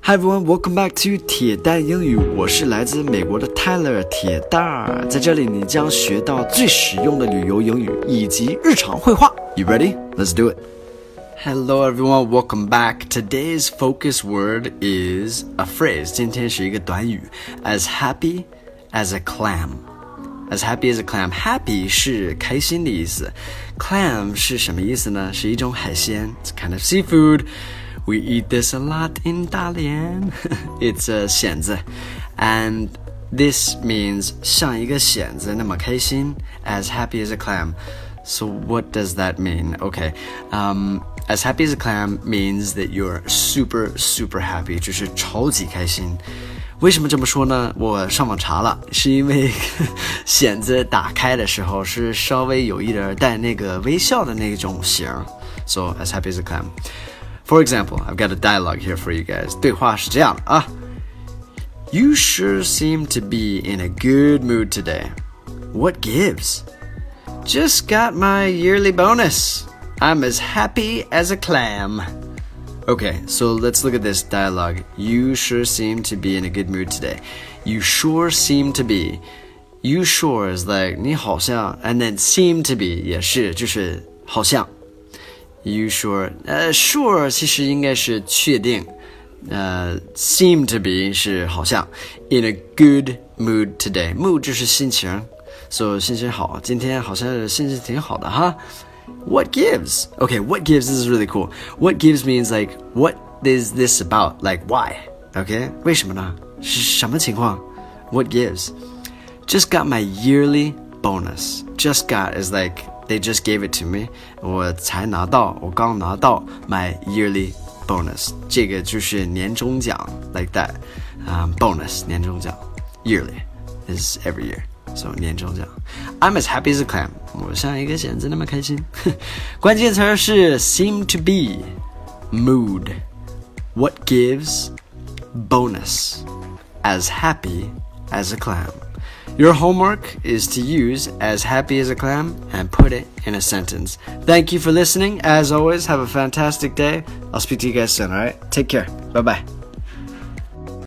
Hi everyone, welcome back to 铁蛋英语，我是来自美国的 Tyler 铁蛋儿，在这里你将学到最实用的旅游英语以及日常会话。You ready? Let's do it. Hello everyone, welcome back. Today's focus word is a phrase. 今天是一个短语 as happy as a clam.As happy as a clam. Happy 是开心的意思。Clam 是什么意思呢？是一种海鲜。It's kind of seafood. We eat this a lot in 大连。It's a 蚬子。And this means 像一个蚬子那么开心。As happy as a clam. So what does that mean? Okay. As happy as a clam means that you're super, super happy. 就是超级开心。为什么这么说呢？我上网查了，是因为蚬子打开的时候是稍微有一点带那个微笑的那种型。So as happy as a clam. For example, I've got a dialogue here for you guys. 对话是这样的啊。You sure seem to be in a good mood today. What gives? Just got my yearly bonus. I'm as happy as a clam.Okay, so let's look at this dialogue. You sure seem to be in a good mood today. You sure seem to be. You sure is like 你好像 and then seem to be 也是就是好像 You sure sure 其实应该是确定seem to be 是好像 In a good mood today. Mood 就是心情 So 心情好今天好像心情挺好的哈What gives? Okay, what gives is really cool. What gives means like, what is this about? Like, why? Okay? 为什么呢？是什么情况？ What gives? Just got my yearly bonus. Just got is like, they just gave it to me. 我刚拿到 my yearly bonus. 这个就是年终奖 like that. Bonus, 年终奖 Yearly is every year.So 年终奖 I'm as happy as a clam 我像一个蚬子那么开心关键词是 seem to be mood what gives bonus as happy as a clam Your homework is to use as happy as a clam and put it in a sentence. Thank you for listening. As always, have a fantastic day. I'll speak to you guys soon, alright? Take care. Bye-bye.